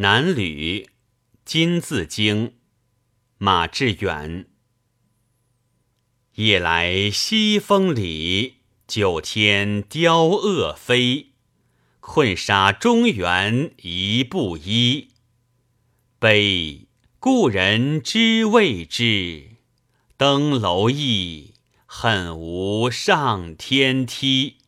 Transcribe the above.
南吕，金字经，马致远。夜来西风里，九天雕恶飞。困杀中原一布衣。悲故人知未至，登楼意，恨无上天梯。